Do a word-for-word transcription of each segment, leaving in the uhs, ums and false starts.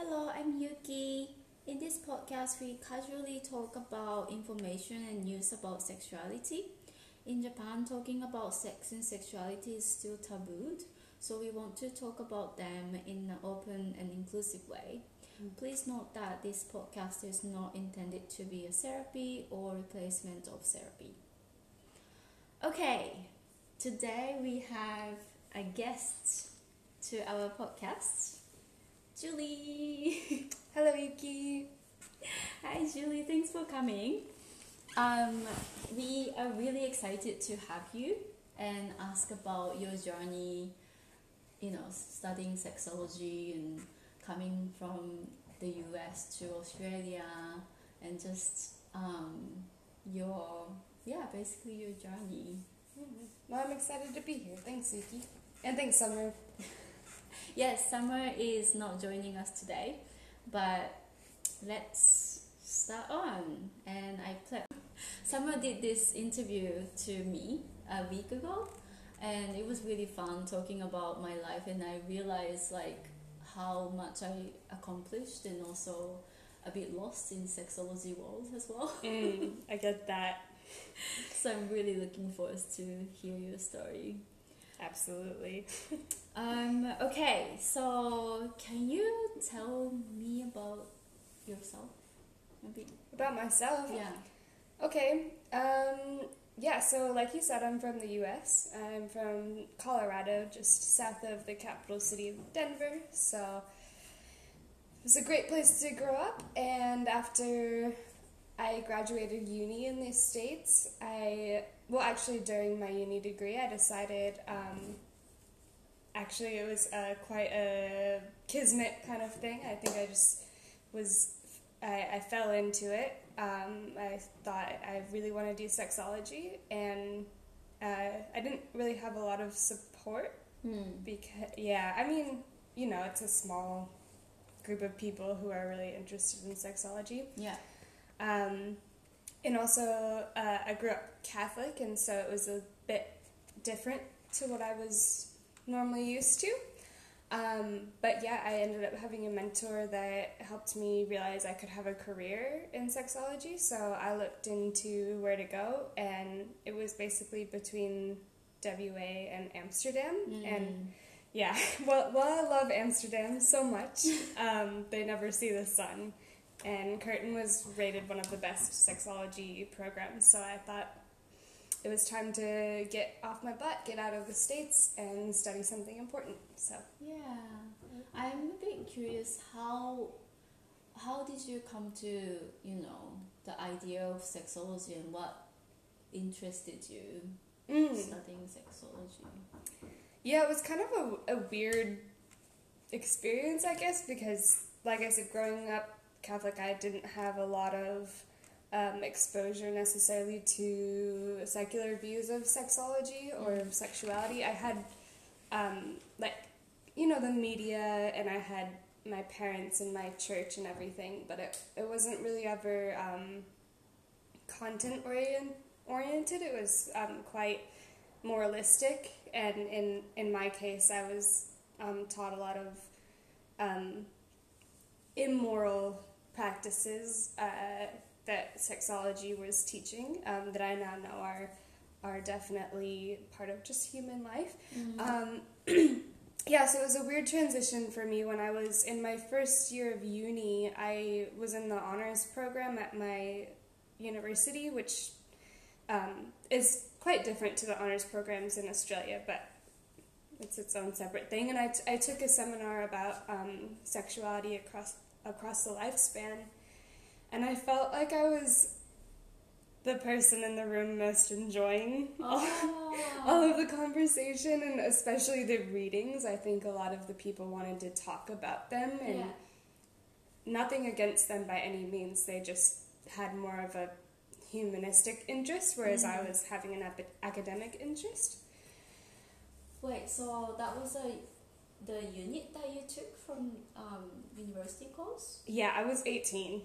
Hello, I'm Yuki. In this podcast, we casually talk about information and news about sexuality. In Japan, talking about sex and sexuality is still tabooed, so we want to talk about them in an open and inclusive way. Please note that this podcast is not intended to be a therapy or replacement of therapy. Okay, today we have a guest to our podcast, Julie. Hello, Yuki. Hi, Julie. Thanks for coming. Um, we are really excited to have you and ask about your journey, you know, studying sexology and coming from the U S to Australia and just um, your, yeah, basically your journey. Well, I'm excited to be here. Thanks, Yuki. And thanks, Summer. Yes, Summer is not joining us today, but let's start on. And I played. Summer did this interview to me a week ago, and it was really fun talking about my life, and I realized like how much I accomplished and also a bit lost in sexology world as well. Mm, I get that. So I'm really looking forward to hear your story. Absolutely. Um, okay, so can you tell me about yourself a bit? About myself? Yeah. Okay. Um, yeah, so like you said, I'm from the U S. I'm from Colorado, just south of the capital city of Denver. So it was a great place to grow up. And after I graduated uni in the States, I, well, actually during my uni degree, I decided, um, actually it was uh, quite a kismet kind of thing. I think I just was, I, I fell into it. Um, I thought I really want to do sexology, and uh, I didn't really have a lot of support Hmm. because, yeah, I mean, you know, it's a small group of people who are really interested in sexology. Yeah. Um, and also, uh, I grew up Catholic, and so it was a bit different to what I was normally used to. Um, but yeah, I ended up having a mentor that helped me realize I could have a career in sexology. So I looked into where to go, and it was basically between W A and Amsterdam. Mm. And yeah, well, well, I love Amsterdam so much. Um, they never see the sun. And Curtin was rated one of the best sexology programs, so I thought it was time to get off my butt, get out of the States, and study something important. So Yeah. I'm a bit curious how how did you come to, you know, the idea of sexology and what interested you mm. studying sexology? yeah, it was kind of a, a weird experience, I guess, because, like I said, growing up Catholic, I didn't have a lot of um, exposure necessarily to secular views of sexology or Mm. sexuality. I had, um, like, you know, the media, and I had my parents and my church and everything, but it, it wasn't really ever um, content orient, oriented. It was um, quite moralistic, and in, in my case, I was um, taught a lot of um, immoral practices uh, that sexology was teaching, um, that I now know are are definitely part of just human life. Mm. Um, yeah, so it was a weird transition for me. When I was in my first year of uni, I was in the honors program at my university, which um, is quite different to the honors programs in Australia, but it's its own separate thing. And I, t- I took a seminar about um, sexuality across across the lifespan, and I felt like I was the person in the room most enjoying Oh. all of the conversation, and especially the readings. I think a lot of the people wanted to talk about them, and Yeah. nothing against them by any means. They just had more of a humanistic interest, whereas Mm. I was having an ep- academic interest. Wait, so that was a the unit that you took from um, university course? Yeah, I was eighteen.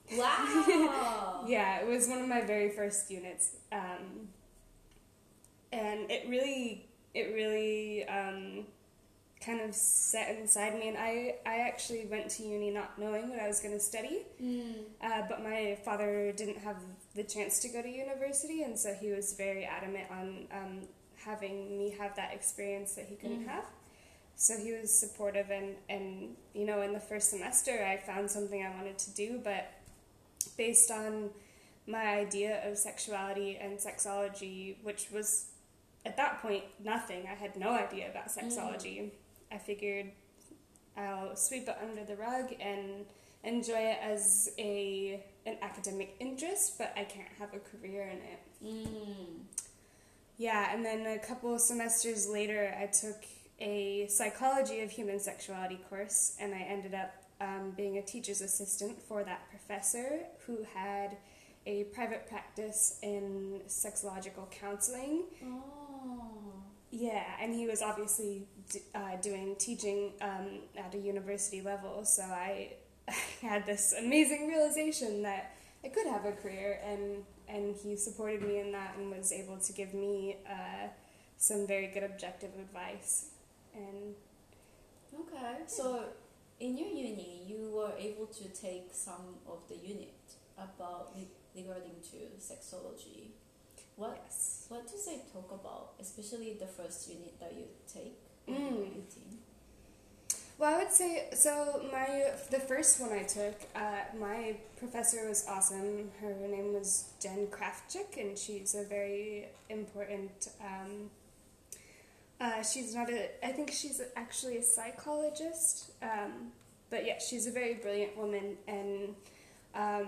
Wow. Yeah, it was one of my very first units, um, and it really, it really um, kind of set inside me. And I, I actually went to uni not knowing what I was going to study, Mm. uh, but my father didn't have the chance to go to university, and so he was very adamant on um, having me have that experience that he couldn't Mm. have. So he was supportive, and, and, you know, in the first semester I found something I wanted to do, but based on my idea of sexuality and sexology, which was at that point nothing, I had no idea about sexology. Mm. I figured I'll sweep it under the rug and enjoy it as a an academic interest, but I can't have a career in it. Mm. Yeah, and then a couple of semesters later, I took a psychology of human sexuality course, and I ended up um, being a teacher's assistant for that professor who had a private practice in sexological counseling. Oh. Yeah, and he was obviously d- uh, doing teaching um, at a university level, so I, I had this amazing realization that I could have a career, and, and he supported me in that and was able to give me uh, some very good objective advice. And Okay, so in your uni, you were able to take some of the unit about regarding to sexology. What yes. what do they talk about, especially the first unit that you take? Mm. eighteen? Well, I would say, so my, the first one I took, uh, my professor was awesome. Her name was Jen Kraftchik, and she's a very important, um, uh, she's not a, I think she's actually a psychologist, um, but yeah, she's a very brilliant woman, and um,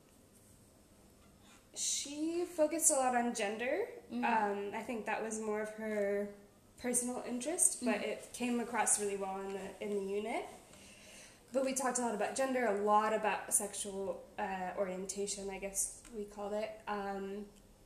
she focused a lot on gender. Mm. Um, I think that was more of her personal interest, but Mm. it came across really well in the in the unit. But we talked a lot about gender, a lot about sexual uh, orientation, I guess we called it, um,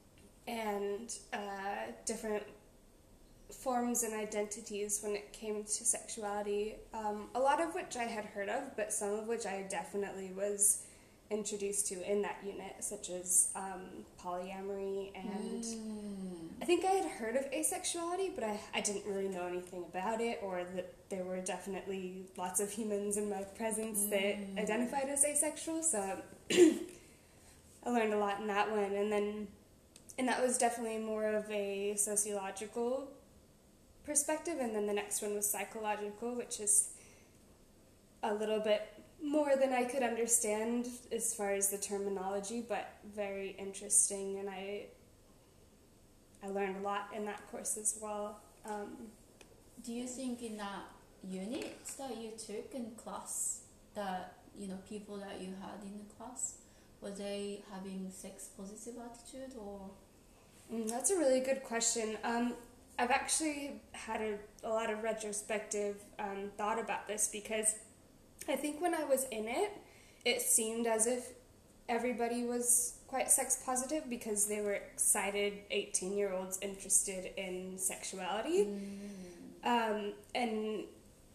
and uh, different forms and identities when it came to sexuality, um, a lot of which I had heard of, but some of which I definitely was introduced to in that unit, such as um, polyamory, and Mm. I think I had heard of asexuality, but I, I didn't really know anything about it, or that there were definitely lots of humans in my presence Mm. that identified as asexual, so I learned a lot in that one, and then and that was definitely more of a sociological perspective, and then the next one was psychological, which is a little bit more than I could understand as far as the terminology, but very interesting, and I I learned a lot in that course as well. Um, Do you think in that unit that you took in class, that, you know, people that you had in the class, were they having sex positive attitude, or? mm, that's a really good question. Um, I've actually had a, a lot of retrospective um, thought about this, because I think when I was in it, it seemed as if everybody was quite sex positive because they were excited eighteen-year-olds interested in sexuality. Mm. Um, and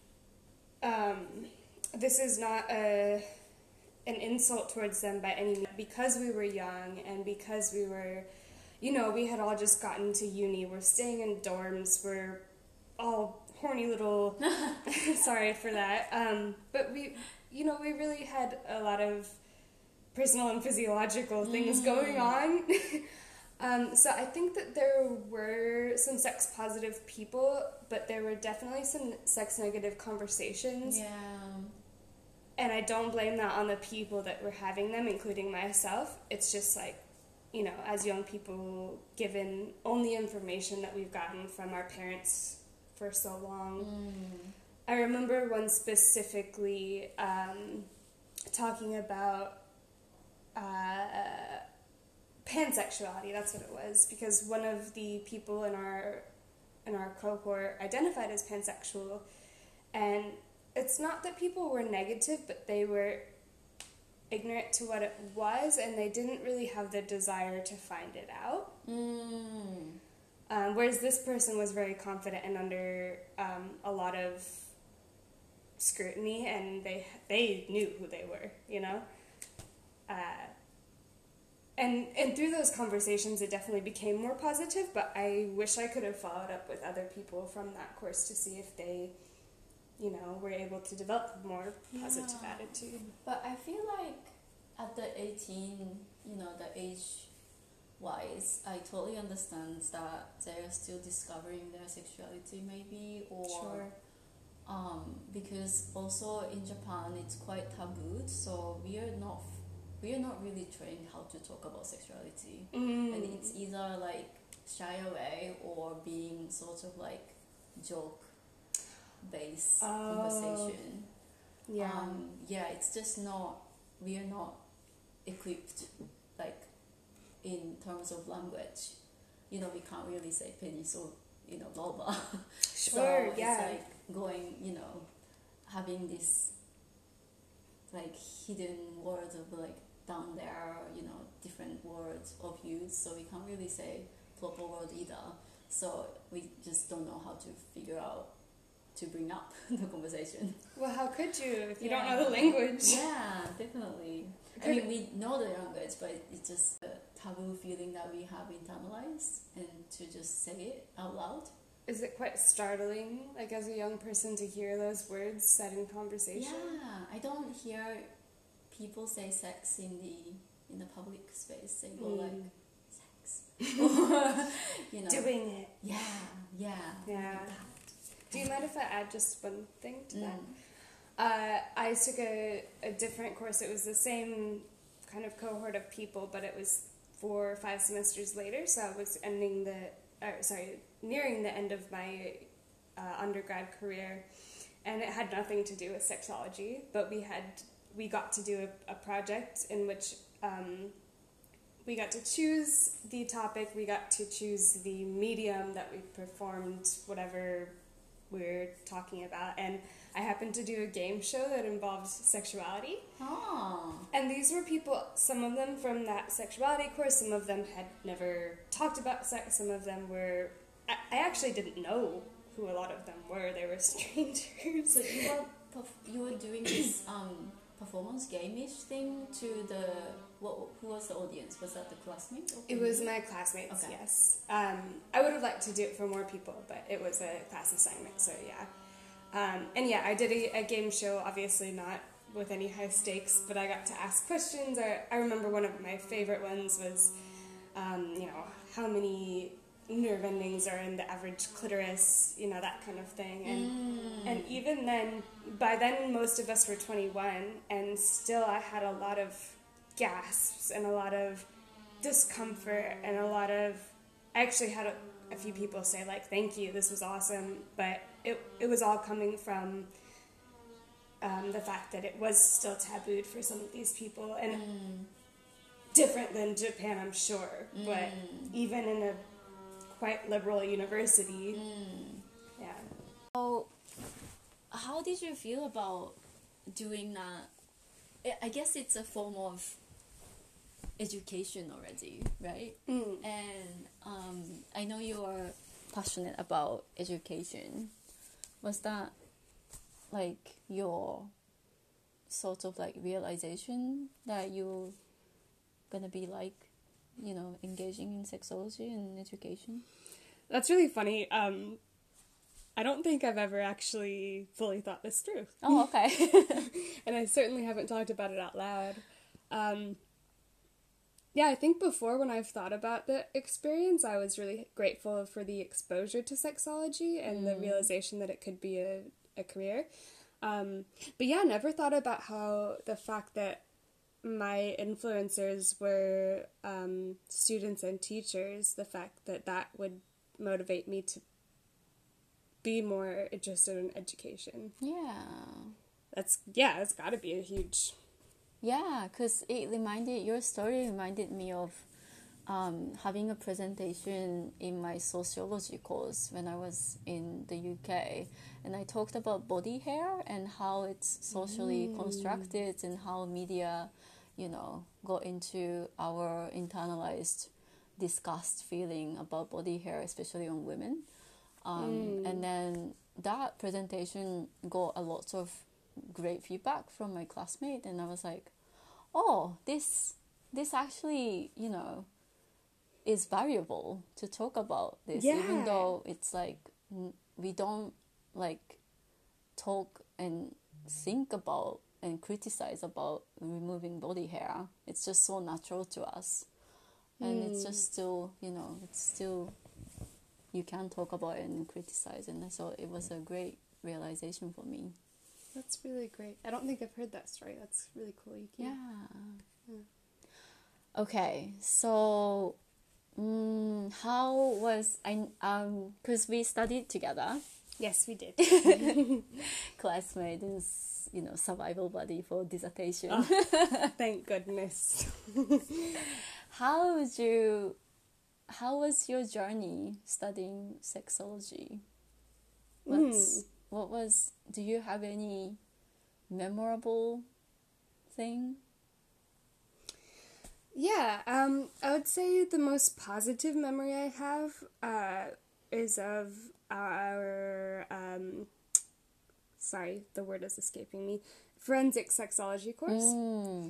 um, this is not a an insult towards them by any means. Because we were young and because we were, you know, we had all just gotten to uni, we're staying in dorms, we're all horny little, sorry for that, um, but we, you know, we really had a lot of personal and physiological things Mm. going on. um, so I think that there were some sex positive people, but there were definitely some sex negative conversations. Yeah. And I don't blame that on the people that were having them, including myself. It's just like, you know, as young people, given only information that we've gotten from our parents for so long. Mm. I remember one specifically um, talking about uh, pansexuality. That's what it was, because one of the people in our in our cohort identified as pansexual, and it's not that people were negative, but they were ignorant to what it was, and they didn't really have the desire to find it out. Mm. Um, whereas this person was very confident and under um, a lot of scrutiny, and they they knew who they were, you know. Uh, and and through those conversations, it definitely became more positive. But I wish I could have followed up with other people from that course to see if they you know, we're able to develop a more positive Yeah. attitude. But I feel like at the eighteen, you know, the age wise, I totally understand that they're still discovering their sexuality maybe, or Sure. um, because also in Japan it's quite tabooed, so we are not we are not really trained how to talk about sexuality, Mm. and it's either like shy away or being sort of like joke based Oh. conversation. Yeah. Um, yeah, it's just not, we are not equipped, like, in terms of language. You know, we can't really say penis or, you know, vulva. Sure, So yeah. it's like going, you know, having this, like, hidden words of, like, down there, you know, different words of use. So we can't really say proper word either. So we just don't know how to figure out to bring up the conversation. Well, how could you if you Yeah. don't know the language? Yeah, definitely. I Could- mean, we know the language, but it's just a taboo feeling that we have internalized, and to just say it out loud. Is it quite startling, like as a young person, to hear those words said in conversation? Yeah, I don't hear people say sex in the in the public space. They go Mm. like sex, or, you know. Doing it. Yeah, yeah. Yeah. Do you mind if I add just one thing to that? Mm. Uh, I took a, a different course. It was the same kind of cohort of people, but it was four or five semesters later. So I was ending the, uh, sorry, nearing the end of my uh, undergrad career, and it had nothing to do with sexology. But we had we got to do a, a project in which um, we got to choose the topic. We got to choose the medium that we performed whatever we're talking about, and I happened to do a game show that involved sexuality. Oh. And these were people, some of them from that sexuality course, some of them had never talked about sex, some of them were, I, I actually didn't know who a lot of them were, they were strangers. So you were perf- you were doing this um performance game-ish thing to the what? Who was the audience? Was that the classmates? or It was you? my classmates, Okay. yes. Um, I would have liked to do it for more people, but it was a class assignment, so yeah. Um, and yeah, I did a, a game show, obviously not with any high stakes, but I got to ask questions. I, I remember one of my favorite ones was, um, you know, how many nerve endings are in the average clitoris, you know, that kind of thing. And Mm. and even then, by then most of us were twenty-one, and still I had a lot of gasps and a lot of discomfort and a lot of, I actually had a, a few people say like, thank you, this was awesome, but it, it was all coming from um, the fact that it was still tabooed for some of these people, and Mm. different than Japan, I'm sure, but Mm. even in a quite liberal university, Mm. yeah. So, how did you feel about doing that? I- I guess it's a form of education already, right? Mm. And um, I know you are passionate about education. Was that like your sort of like realization that you're gonna be like, you know, engaging in sexology and education? That's really funny. Um, I don't think I've ever actually fully thought this through. Oh, okay. And I certainly haven't talked about it out loud. Um, yeah, I think before, when I've thought about the experience, I was really grateful for the exposure to sexology and the Mm. realization that it could be a, a career. Um, but yeah, never thought about how the fact that my influencers were um, students and teachers, the fact that that would motivate me to be more interested in education. Yeah. That's, yeah, it's got to be a huge... Yeah, because it reminded, your story reminded me of um, having a presentation in my sociology course when I was in the U K. And I talked about body hair and how it's socially Mm. constructed and how media, you know, got into our internalized disgust feeling about body hair, especially on women. Um, Mm. And then that presentation got a lot of great feedback from my classmate, and I was like, oh, this this actually, you know, is valuable to talk about this, Yeah. even though it's like n- we don't like talk and think about and criticize about removing body hair. It's just so natural to us. And mm. it's just still, you know, it's still, you can talk about it and criticize. And so it was a great realization for me. That's really great. I don't think I've heard that story. That's really cool. You can... Yeah. yeah. Okay, so um, how was I? Um, because we studied together. Yes, we did. Classmate and, you know, survival buddy for dissertation. Oh, thank goodness. How would you? How was your journey studying sexology? What's mm. what was? Do you have any memorable thing? Yeah, um, I would say the most positive memory I have uh, is of our, um, sorry, the word is escaping me, forensic sexology course. Mm.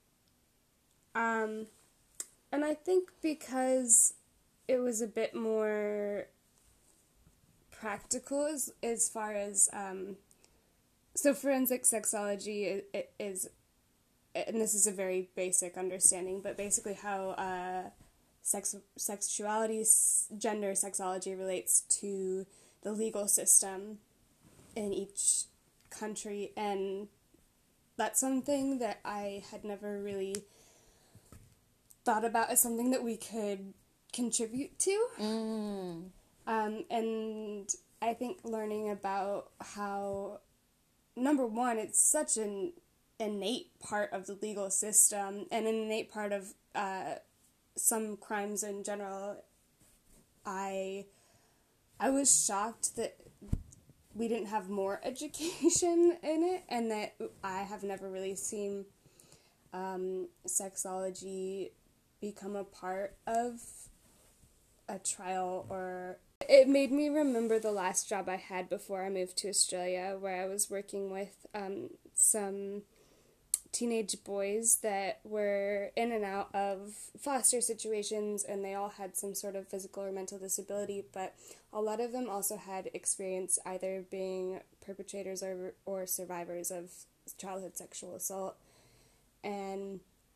Um, and I think because it was a bit more practical as, as far as, um, so forensic sexology is, is, and this is a very basic understanding, but basically how uh, sex, sexuality, gender, sexology relates to the legal system in each country, and that's something that I had never really thought about as something that we could contribute to. Mm. Um, and I think learning about how, number one, it's such an innate part of the legal system and an innate part of uh, some crimes in general. I I was shocked that we didn't have more education in it, and that I have never really seen um, sexology become a part of a trial. Or it made me remember the last job I had before I moved to Australia, where I was working with um, some teenage boys that were in and out of foster situations, and they all had some sort of physical or mental disability, but a lot of them also had experience either being perpetrators or or survivors of childhood sexual assault. And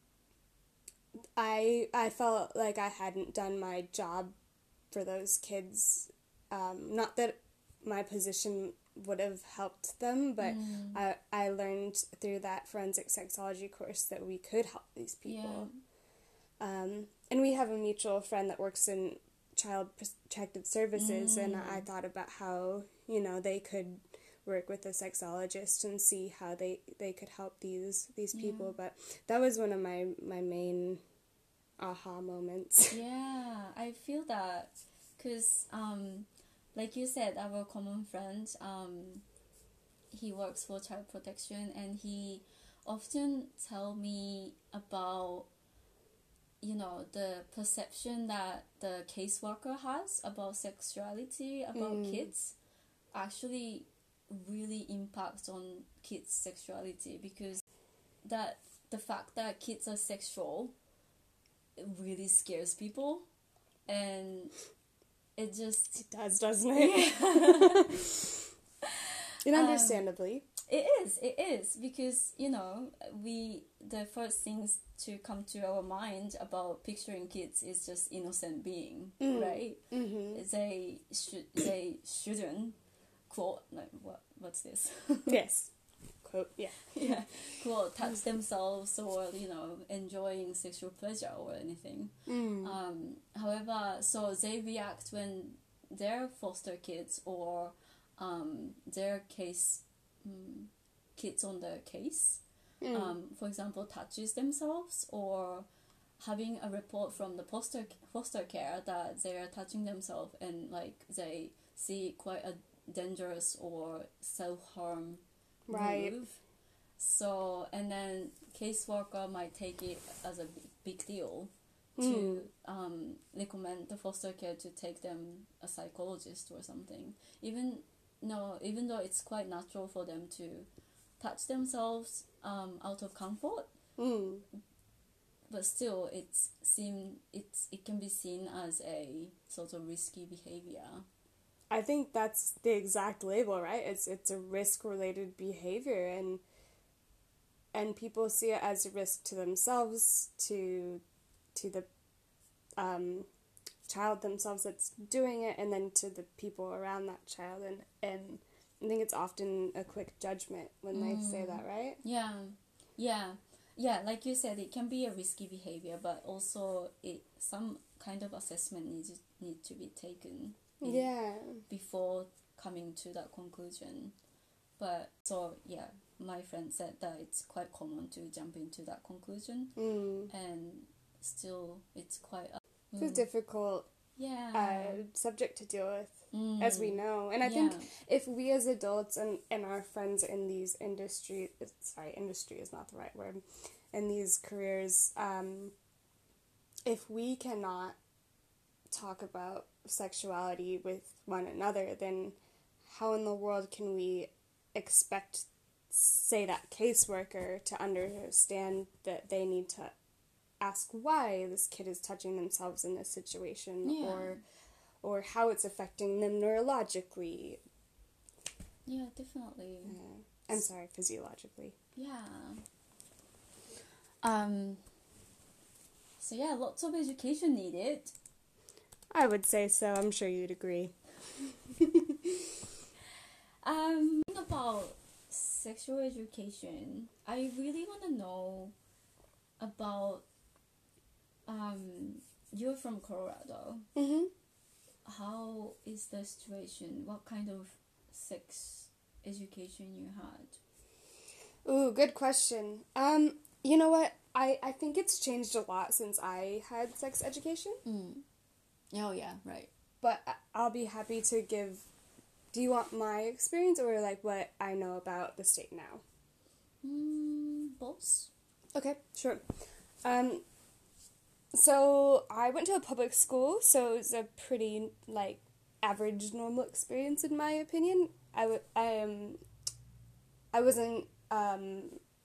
I I felt like I hadn't done my job for those kids. Um, not that my position would have helped them, but mm. I I learned through that forensic sexology course that we could help these people. Yeah. Um, and we have a mutual friend that works in child protective services, mm. and I thought about how, you know, they could work with a sexologist and see how they, they could help these these people. Yeah. But that was one of my, my main aha moments. Yeah, I feel that because um like you said, our common friend, um, he works for child protection, and he often tell me about, you know, the perception that the caseworker has about sexuality, about mm. kids, actually really impacts on kids' sexuality, because that the fact that kids are sexual really scares people, and it just... It does, doesn't it? Yeah. And understandably. Um, it is, it is, because, you know, we, the first things to come to our mind about picturing kids is just innocent being, mm. right? Mm-hmm. They, should, they shouldn't, quote, like, what, what's this? Yes. Quote, yeah. Yeah, quote, touch themselves or, you know, enjoying sexual pleasure or anything. Mm. Um, however, so they react when their foster kids or um, their case, um, kids on the case, mm. um, for example, touches themselves, or having a report from the foster, foster care that they are touching themselves, and like they see quite a dangerous or self-harm right. move. So, and then caseworker might take it as a big deal to mm. um, recommend the foster care to take them a psychologist or something. Even no, even though it's quite natural for them to touch themselves um, out of comfort, mm. but still, it's seen it's it can be seen as a sort of risky behavior. I think that's the exact label, right? It's it's a risk-related behavior, and and people see it as a risk to themselves, to to the um, child themselves that's doing it, and then to the people around that child, and and I think it's often a quick judgment when they say that, right? Yeah, yeah, yeah. Like you said, it can be a risky behavior, but also it some kind of assessment needs need to be taken. in- Yeah. Before coming to that conclusion. But so yeah, my friend said that it's quite common to jump into that conclusion, Mm. and still it's quite a, It's a difficult yeah uh, subject to deal with, Mm. as we know. And I Yeah. think if we as adults and, and our friends in these industry, sorry, industry is not the right word, in these careers, um, if we cannot talk about sexuality with one another, then how in the world can we expect, say, that caseworker to understand that they need to ask why this kid is touching themselves in this situation, Yeah. or or how it's affecting them neurologically. yeah definitely Uh, I'm sorry, physiologically. yeah um so yeah, lots of education needed. I would say so. I'm sure you'd agree. Um, about sexual education, I really want to know about. Um, you're from Colorado. Mm-hmm. How is the situation? What kind of sex education you had? Ooh, good question. Um, you know what? I, I think it's changed a lot since I had sex education, Mm. Oh yeah, right. but I- I'll be happy to give. Do you want my experience or like what I know about the state now? Mm, both. Okay, sure. Um, so I went to a public school, so it was a pretty like average, normal experience in my opinion. I w- I um, I wasn't um,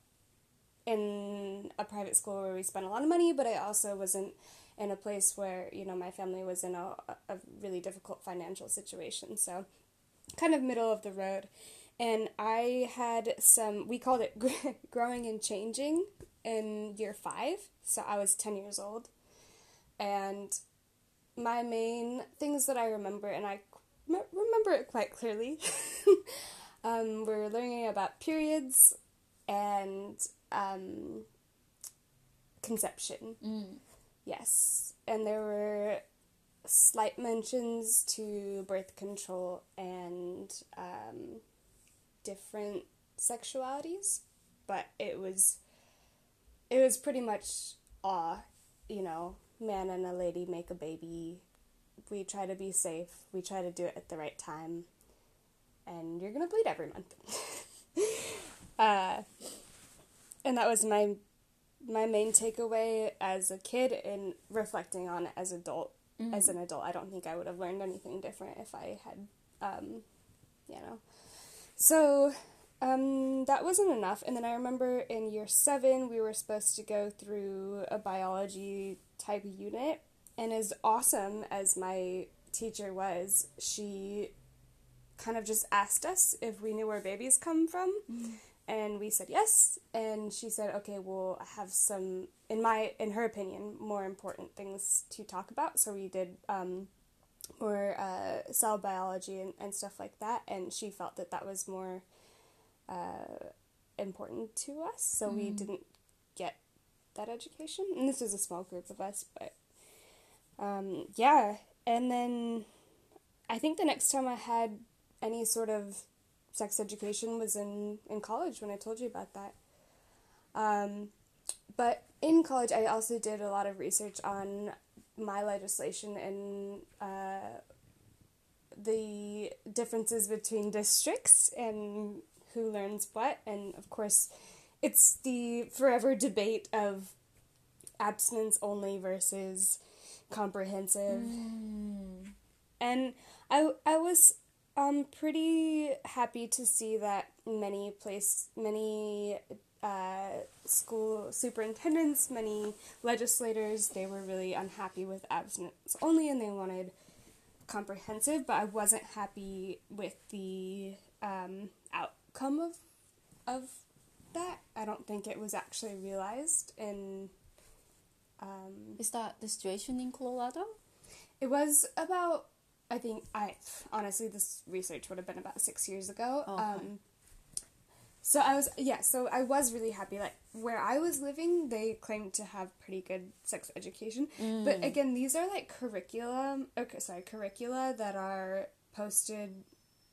in a private school where we spent a lot of money, but I also wasn't in a place where, you know, my family was in a, a really difficult financial situation. So kind of middle of the road. And I had some, we called it growing and changing in year five. So I was ten years old. And my main things that I remember, and I remember it quite clearly, um, we're learning about periods and um, conception. Mm. Yes. And there were slight mentions to birth control and um, different sexualities, but it was it was pretty much aw, you know, man and a lady make a baby. We try to be safe. We try to do it at the right time, and you're gonna bleed every month. uh, and that was my my main takeaway as a kid, and reflecting on it as adult. Mm. As an adult, I don't think I would have learned anything different if I had, um, you know. So, um, that wasn't enough. And then I remember in year seven, we were supposed to go through a biology type unit. And as awesome as my teacher was, she kind of just asked us if we knew where babies come from. Mm. And we said yes, and she said, okay, we'll have some, in my, in her opinion, more important things to talk about. So we did um, more uh, cell biology and, and stuff like that, and she felt that that was more uh, important to us, so mm. we didn't get that education. And this was a small group of us, but um, yeah. And then I think the next time I had any sort of sex education was in, in college when I told you about that. Um, but in college, I also did a lot of research on my legislation and uh, the differences between districts and who learns what. And of course, it's the forever debate of abstinence only versus comprehensive. Mm. And I, I was um pretty happy to see that many place many uh, school superintendents, many legislators, they were really unhappy with abstinence only, and they wanted comprehensive, but I wasn't happy with the um, outcome of of that. I don't think it was actually realized in... Um, Is that the situation in Colorado? it was about, I think, I honestly, this research would have been about six years ago. Okay. Um, so I was, yeah, so I was really happy. Like, where I was living, they claimed to have pretty good sex education. Mm. But again, these are like curriculum, okay, sorry, curricula that are posted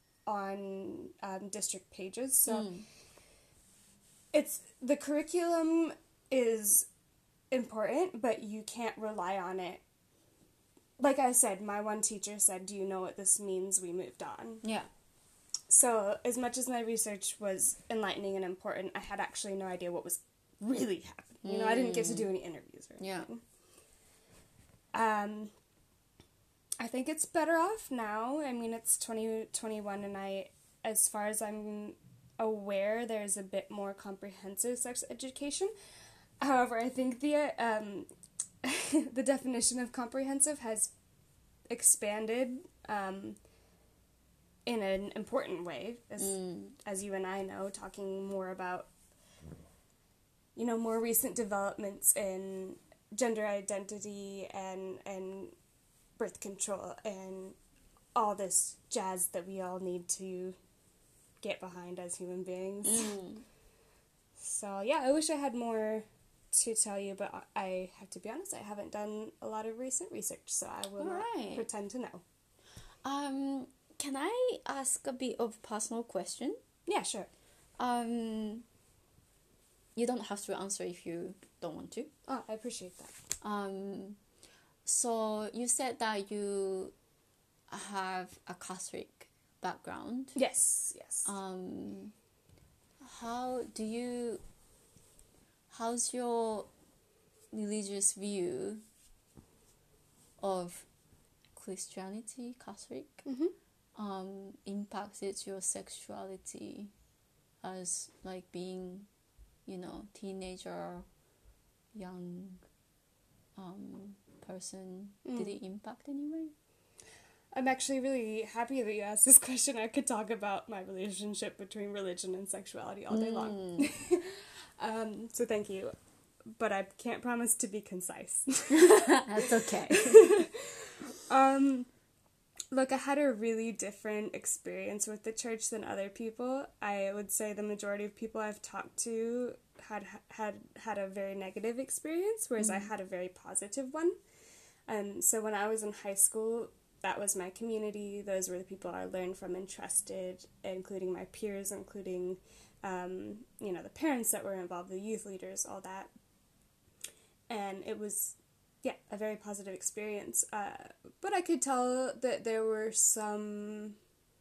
on um, district pages. So Mm. it's, the curriculum is important, but you can't rely on it. Like I said, my one teacher said, "Do you know what this means? We moved on." Yeah. So, as much as my research was enlightening and important, I had actually no idea what was really happening. You know, I didn't get to do any interviews or anything. Yeah. Um, I think it's better off now. I mean, it's twenty twenty-one, and I, as far as I'm aware, there's a bit more comprehensive sex education. However, I think the um, the definition of comprehensive has expanded um, in an important way, as Mm. as you and I know, talking more about, you know, more recent developments in gender identity and and birth control and all this jazz that we all need to get behind as human beings. Mm. So yeah, I wish I had more to tell you, but I have to be honest, I haven't done a lot of recent research, so I will not Alright. pretend to know. Um, can I ask a bit of personal question? Yeah, sure. Um, you don't have to answer if you don't want to. Oh, I appreciate that. Um, so you said that you have a Catholic background. Yes, yes. Um, how do you? How's your religious view of Christianity, Catholic, mm-hmm. um, impacted your sexuality as like being, you know, teenager, young um, person? Mm. Did it impact anyway? I'm actually really happy that you asked this question. I could talk about my relationship between religion and sexuality all day long. Mm. um, so thank you. But I can't promise to be concise. That's okay. um, look, I had a really different experience with the church than other people. I would say the majority of people I've talked to had had had a very negative experience, whereas mm. I had a very positive one. Um, so when I was in high school, that was my community. Those were the people I learned from and trusted, including my peers, including, um, you know, the parents that were involved, the youth leaders, all that. And it was, yeah, a very positive experience. Uh, but I could tell that there were some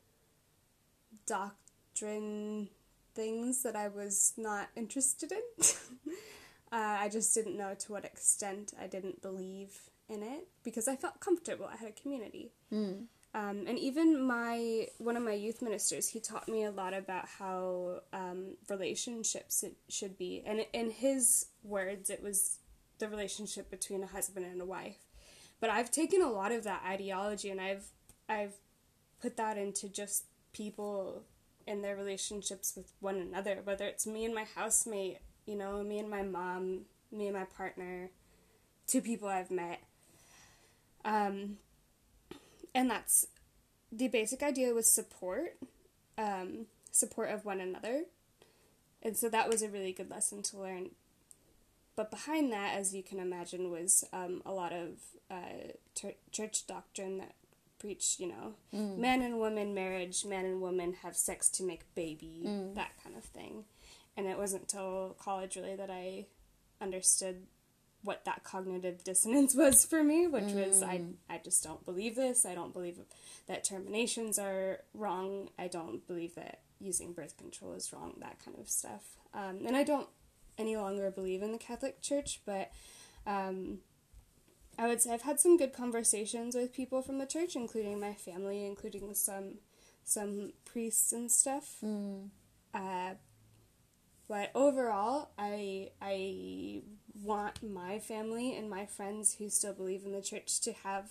doctrine things that I was not interested in. uh, I just didn't know to what extent I didn't believe in it, because I felt comfortable. I had a community. Mm. Um, and even my one of my youth ministers, he taught me a lot about how um, relationships it should be. And in his words, it was the relationship between a husband and a wife. But I've taken a lot of that ideology and I've I've put that into just people in their relationships with one another, whether it's me and my housemate, you know, me and my mom, me and my partner, two people I've met. Um, and that's, the basic idea was support, um, support of one another. And so that was a really good lesson to learn. But behind that, as you can imagine, was um, a lot of uh, ter- church doctrine that preached, you know, mm. man and woman marriage, man and woman have sex to make baby, mm. that kind of thing. And it wasn't until college, really, that I understood what that cognitive dissonance was for me, which mm. was, I, I just don't believe this. I don't believe that terminations are wrong. I don't believe that using birth control is wrong, that kind of stuff. Um, and I don't any longer believe in the Catholic Church, but um, I would say I've had some good conversations with people from the church, including my family, including some some priests and stuff. Mm. Uh, but overall, I I want my family and my friends who still believe in the church to have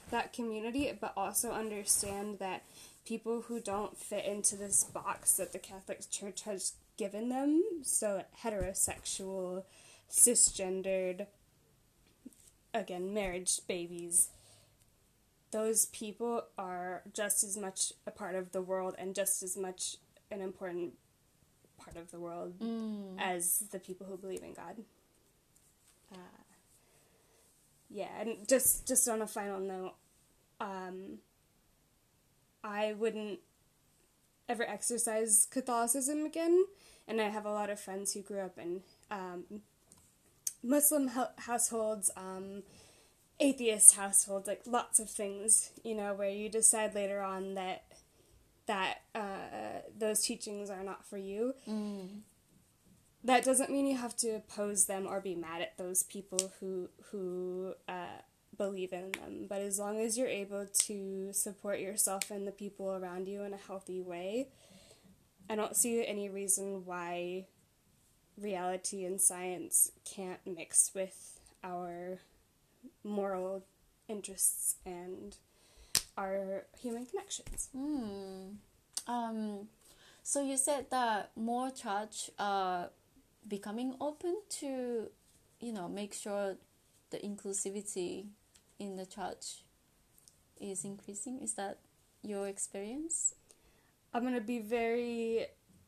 that community, but also understand that people who don't fit into this box that the Catholic Church has given them, so heterosexual, cisgendered, again, marriage babies, those people are just as much a part of the world and just as much an important part of the world Mm. as the people who believe in God. Uh, yeah, and just, just on a final note, um, I wouldn't ever exercise Catholicism again, and I have a lot of friends who grew up in um, Muslim ho- households, um, atheist households, like lots of things, you know, where you decide later on that that uh, those teachings are not for you. Mm. That doesn't mean you have to oppose them or be mad at those people who who uh, believe in them. But as long as you're able to support yourself and the people around you in a healthy way, I don't see any reason why reality and science can't mix with our moral interests and our human connections. Mm. Um, so you said that more church are becoming open to, you know, make sure the inclusivity in the church is increasing. Is that your experience? I'm going to be very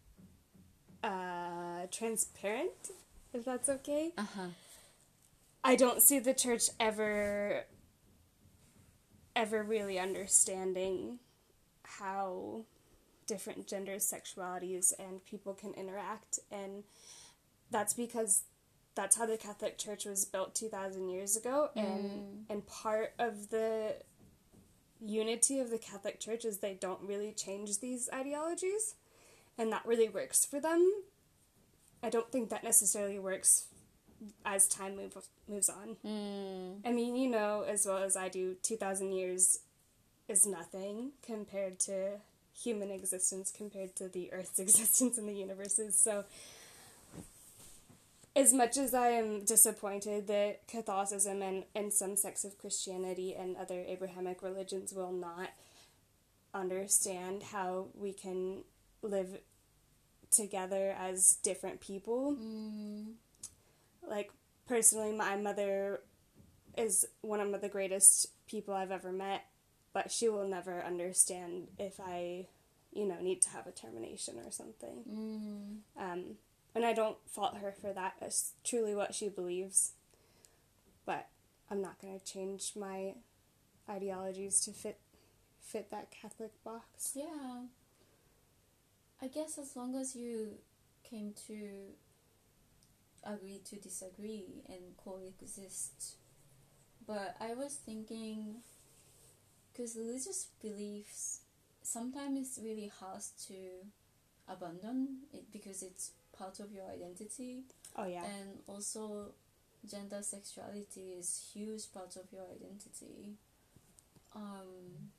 uh, transparent, if that's okay. Uh-huh. I don't see the church ever, ever really understanding how different genders, sexualities, and people can interact, and that's because that's how the Catholic Church was built two thousand years ago, and Mm. and part of the unity of the Catholic Church is they don't really change these ideologies, and that really works for them. I don't think that necessarily works as time move, moves on. Mm. I mean, you know as well as I do, two thousand years is nothing compared to human existence, compared to the Earth's existence and the universe's. So, as much as I am disappointed that Catholicism and, and some sects of Christianity and other Abrahamic religions will not understand how we can live together as different people. Mm. Like, personally, my mother is one of the greatest people I've ever met, but she will never understand if I, you know, need to have a termination or something. Mm. Um, and I don't fault her for that. It's truly what she believes. But I'm not going to change my ideologies to fit fit that Catholic box. Yeah. I guess as long as you came to agree to disagree and coexist. But I was thinking, because religious beliefs sometimes it's really hard to abandon it because it's part of your identity. Oh, yeah. And also gender sexuality is huge part of your identity. Um,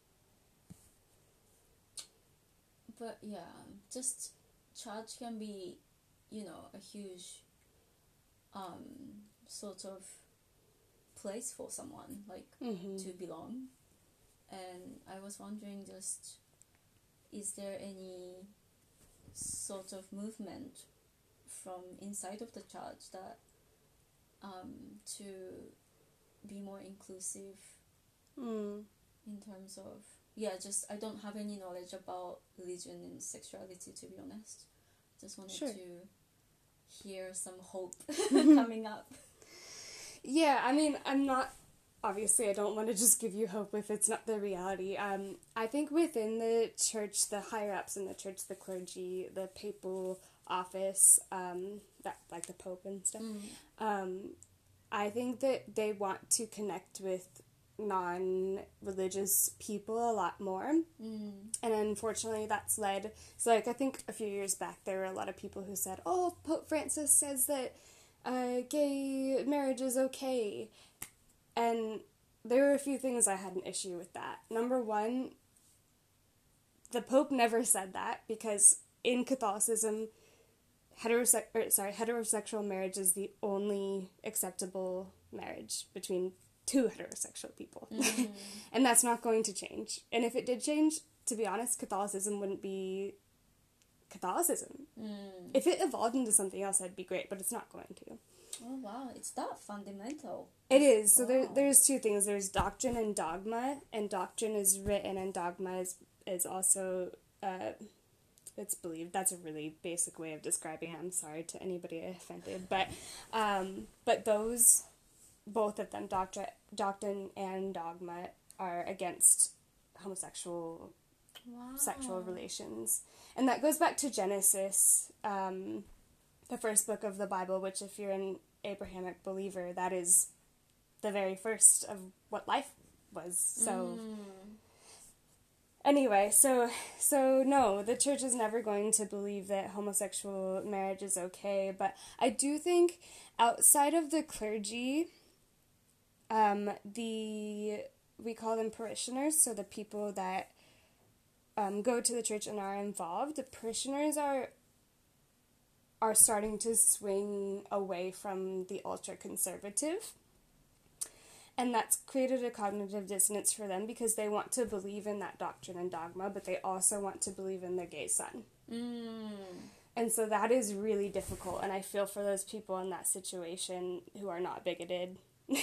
but yeah, just church can be, you know, a huge um, sort of place for someone, like Mm-hmm. to belong. And I was wondering, just is there any sort of movement from inside of the church that um, to be more inclusive Mm. in terms of, yeah, just I don't have any knowledge about religion and sexuality, to be honest. Just wanted Sure. to hear some hope coming up. Yeah, I mean, I'm not, obviously I don't want to just give you hope if it's not the reality. Um, I think within the church, the higher-ups in the church, the clergy, the papal office, um, that like the Pope and stuff, Mm. um, I think that they want to connect with non-religious people a lot more. Mm. And unfortunately, that's led... So, like, I think a few years back, there were a lot of people who said, oh, Pope Francis says that uh, gay marriage is okay. And there were a few things I had an issue with that. Number one, the Pope never said that, because in Catholicism, heterose- or, sorry, heterosexual marriage is the only acceptable marriage between two heterosexual people. Mm. And that's not going to change. And if it did change, to be honest, Catholicism wouldn't be Catholicism. Mm. If it evolved into something else, that'd be great, but it's not going to. Oh wow, it's that fundamental. It is. So Wow. there, there's two things. There's doctrine and dogma, and doctrine is written, and dogma is, is also, uh, it's believed. That's a really basic way of describing it. I'm sorry to anybody I offended. But, um, but those, both of them, doctrine, doctrine and dogma, are against homosexual Wow. sexual relations. And that goes back to Genesis, um, the first book of the Bible, which if you're an Abrahamic believer, that is the very first of what life was. So Mm. anyway, so so no, the church is never going to believe that homosexual marriage is okay, but I do think outside of the clergy, um, the we call them parishioners, so the people that um, go to the church and are involved, the parishioners are are starting to swing away from the ultra-conservative. And that's created a cognitive dissonance for them because they want to believe in that doctrine and dogma, but they also want to believe in their gay son. Mm. And so that is really difficult, and I feel for those people in that situation who are not bigoted.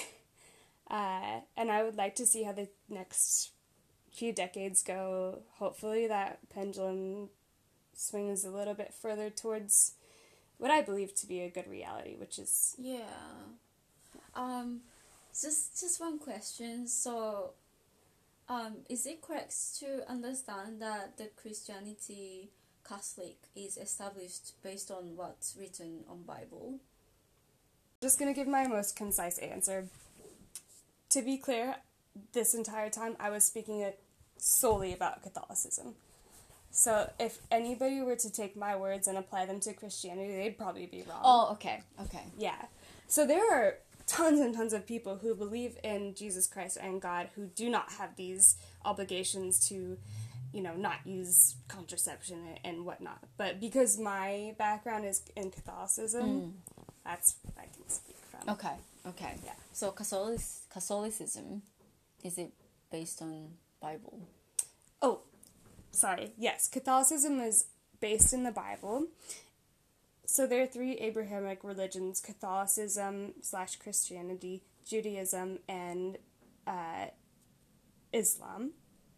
uh, and I would like to see how the next few decades go. Hopefully that pendulum swings a little bit further towards what I believe to be a good reality, which is... Yeah. Um, just just one question. So, um, is it correct to understand that the Christianity Catholic is established based on what's written on Bible? Just going to give my most concise answer. To be clear, this entire time I was speaking it solely about Catholicism. So if anybody were to take my words and apply them to Christianity, they'd probably be wrong. Oh, okay, okay. Yeah. So there are tons and tons of people who believe in Jesus Christ and God who do not have these obligations to, you know, not use contraception and whatnot. But because my background is in Catholicism, Mm. that's what I can speak from. Okay, okay. Yeah. So Catholic Catholicism, is it based on Bible? Oh, sorry. Yes, Catholicism is based in the Bible. So there are three Abrahamic religions: Catholicism slash Christianity, Judaism, and uh, Islam.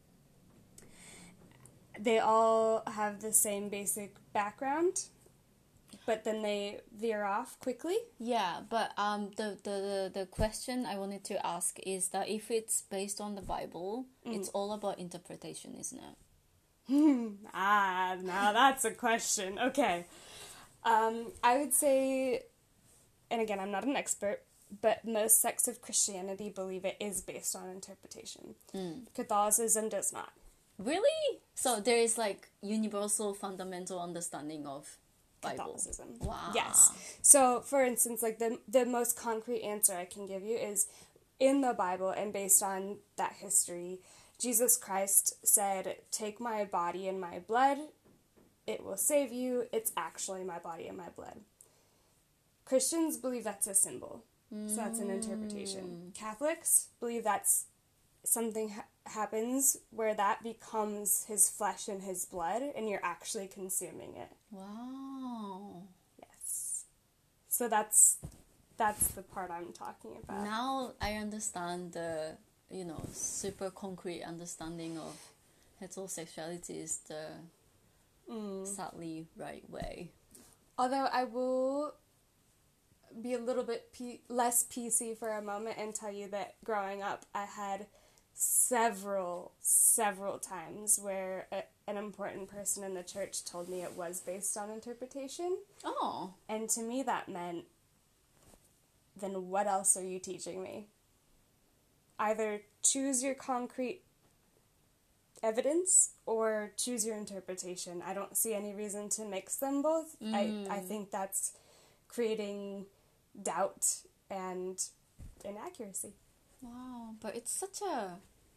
They all have the same basic background, but then they veer off quickly. Yeah, but um, the, the, the, the question I wanted to ask is that if it's based on the Bible, Mm. it's all about interpretation, isn't it? Ah, now that's a question. Okay. Um, I would say, and again, I'm not an expert, but most sects of Christianity believe it is based on interpretation. Mm. Catholicism does not. Really? So there is like universal fundamental understanding of Bible. Catholicism. Wow. Yes. So, for instance, like the the most concrete answer I can give you is in the Bible and based on that history, Jesus Christ said, "Take my body and my blood. It will save you. It's actually my body and my blood." Christians believe that's a symbol. So that's an interpretation. Catholics believe that's something ha- happens where that becomes his flesh and his blood and you're actually consuming it. Wow. Yes. So that's that's the part I'm talking about. Now I understand the, you know, super concrete understanding of heterosexuality is the Mm. sadly right way. Although I will be a little bit P- less P C for a moment and tell you that growing up I had several, several times where a, an important person in the church told me it was based on interpretation. Oh. And to me that meant, then what else are you teaching me? Either choose your concrete evidence or choose your interpretation. I don't see any reason to mix them both. Mm. I, I think that's creating doubt and inaccuracy. Wow. But it's such a,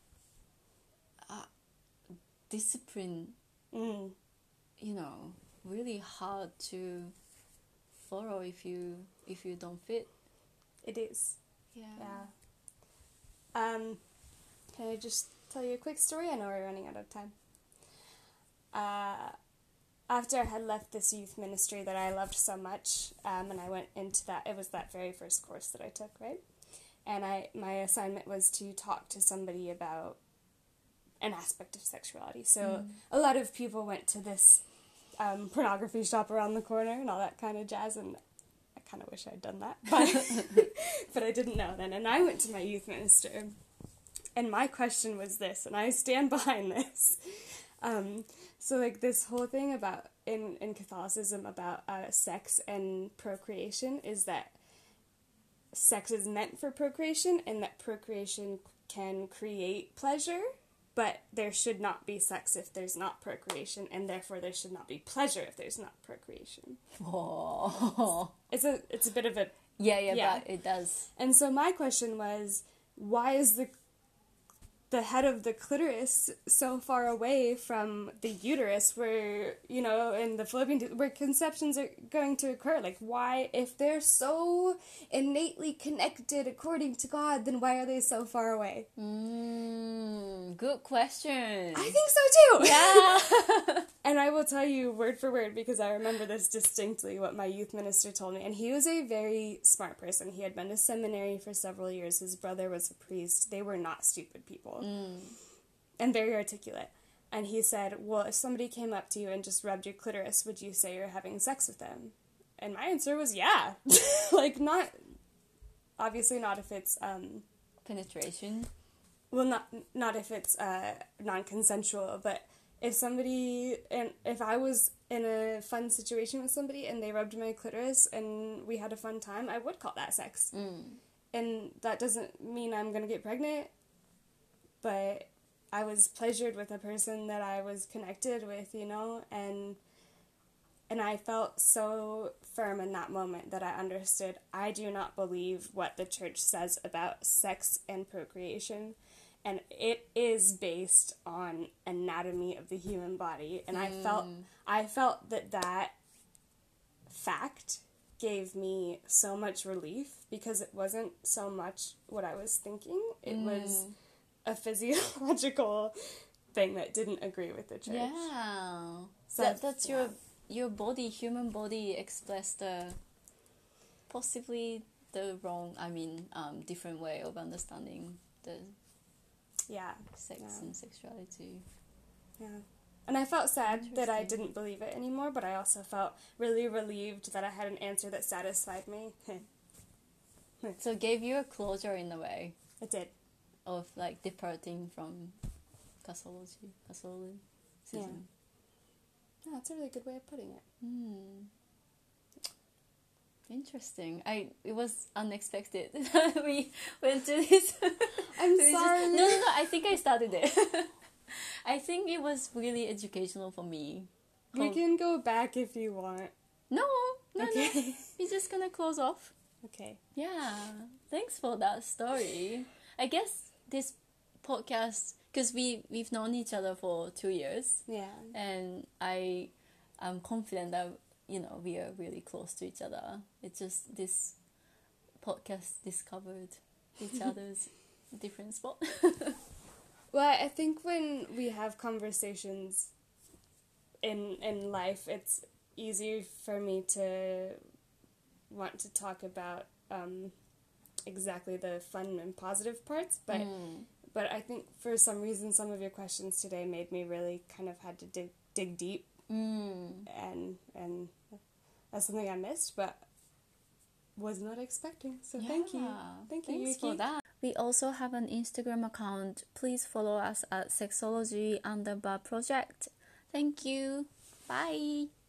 a discipline, Mm. you know, really hard to follow if you if you don't fit. It is. Yeah. Yeah. Um, can I just tell you a quick story? I know we're running out of time. Uh, after I had left this youth ministry that I loved so much, um, and I went into that, it was that very first course that I took, right? And I my assignment was to talk to somebody about an aspect of sexuality. So mm. a lot of people went to this um, pornography shop around the corner and all that kind of jazz, and I kind of wish I'd done that, but but I didn't know then. And I went to my youth minister, and my question was this, and I stand behind this. Um, so like this whole thing about in, in Catholicism about uh, sex and procreation is that sex is meant for procreation, and that procreation can create pleasure, but there should not be sex if there's not procreation, and therefore there should not be pleasure if there's not procreation. Oh. It's a it's a bit of a yeah yeah, yeah. But it does. And so my question was, why is the the head of the clitoris so far away from the uterus where, you know, in the fallopian tube, where conceptions are going to occur? Like, why, if they're so innately connected according to God, then why are they so far away? Mm, good question. I think so too! Yeah! And I will tell you word for word, because I remember this distinctly, what my youth minister told me. And he was a very smart person. He had been to seminary for several years. His brother was a priest. They were not stupid people. Mm. And very articulate. And he said, well, if somebody came up to you and just rubbed your clitoris, would you say you're having sex with them? And my answer was yeah. Like, not, obviously not if it's, um... penetration? Well, not not if it's uh, non-consensual, but if somebody, and if I was in a fun situation with somebody and they rubbed my clitoris and we had a fun time, I would call that sex. Mm. And that doesn't mean I'm going to get pregnant, but I was pleasured with a person that I was connected with, you know, and and I felt so firm in that moment that I understood I do not believe what the church says about sex and procreation, and it is based on anatomy of the human body, and mm. I felt I felt that that fact gave me so much relief, because it wasn't so much what I was thinking, it mm. was a physiological thing that didn't agree with the church. Yeah. So that, that's yeah. your your body, human body expressed the possibly the wrong, I mean, um, different way of understanding the yeah sex yeah. and sexuality. Yeah. And I felt sad that I didn't believe it anymore, but I also felt really relieved that I had an answer that satisfied me. So it gave you a closure in a way. It did. Of like departing from Catholicism. Catholicism. Yeah. Yeah, that's a really good way of putting it. Hmm. Interesting. I it was unexpected. We went to this. I'm we sorry. Just, no, no, no. I think I started it. I think it was really educational for me. We oh. can go back if you want. No, no, okay. no. We're just gonna close off. Okay. Yeah. Thanks for that story. I guess this podcast, because we, we've known each other for two years. Yeah. And I am confident that, you know, we are really close to each other. It's just this podcast discovered each other's different spot. Well, I think when we have conversations in in life, it's easier for me to want to talk about um, exactly the fun and positive parts, but mm. but I think for some reason some of your questions today made me really kind of had to dig dig deep, mm. and and that's something I missed, but was not expecting. So yeah. thank you, thank you, Thanks Yuki. for that. We also have an Instagram account. Please follow us at sexology underbar project. Thank you. Bye.